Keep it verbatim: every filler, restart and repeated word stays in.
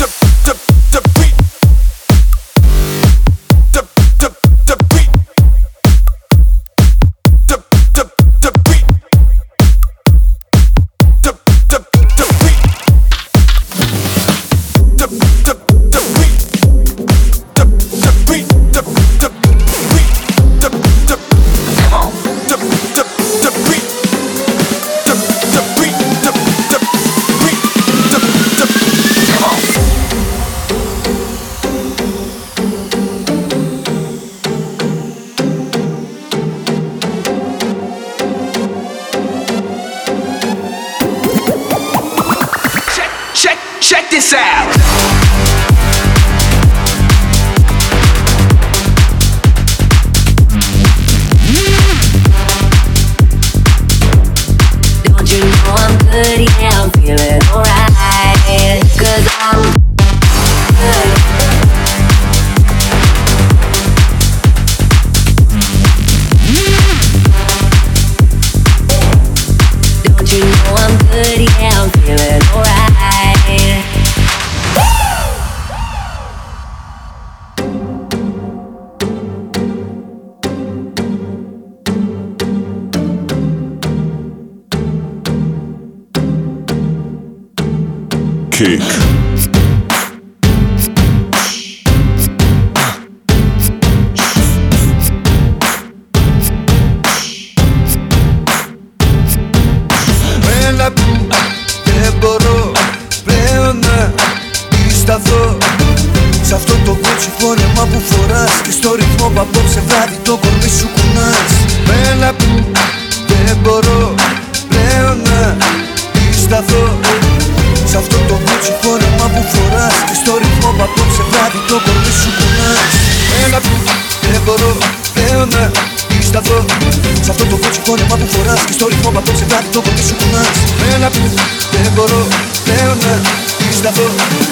Check this out. Don't you know I'm good, yeah, I'm feeling alright. Cause I'm good. Don't you know I'm good, yeah, I'm feeling alright. Kick. Μένα που δεν μπορώ πλέον να σταθώ σ' αυτό το κότσι φόρεμα που φοράς και στο ρυθμό που απόψε βράδυ το κορμί σου κουνάς. Μένα που δεν μπορώ πλέον να σταθώ σ' αυτό το κότσι φόρεμα που φοράς και στο ρυθμό που απόψε βράδυ το κορμί σου κουνάς. Μένα που δεν μπορώ πλέον να σταθώ σ' αυτό το κότσι φόρεμα που φοράς και στο ρυθμό που απόψε βράδυ το κορμί σου κουνάς. Μένα που δεν μπορώ πλέον να σταθώ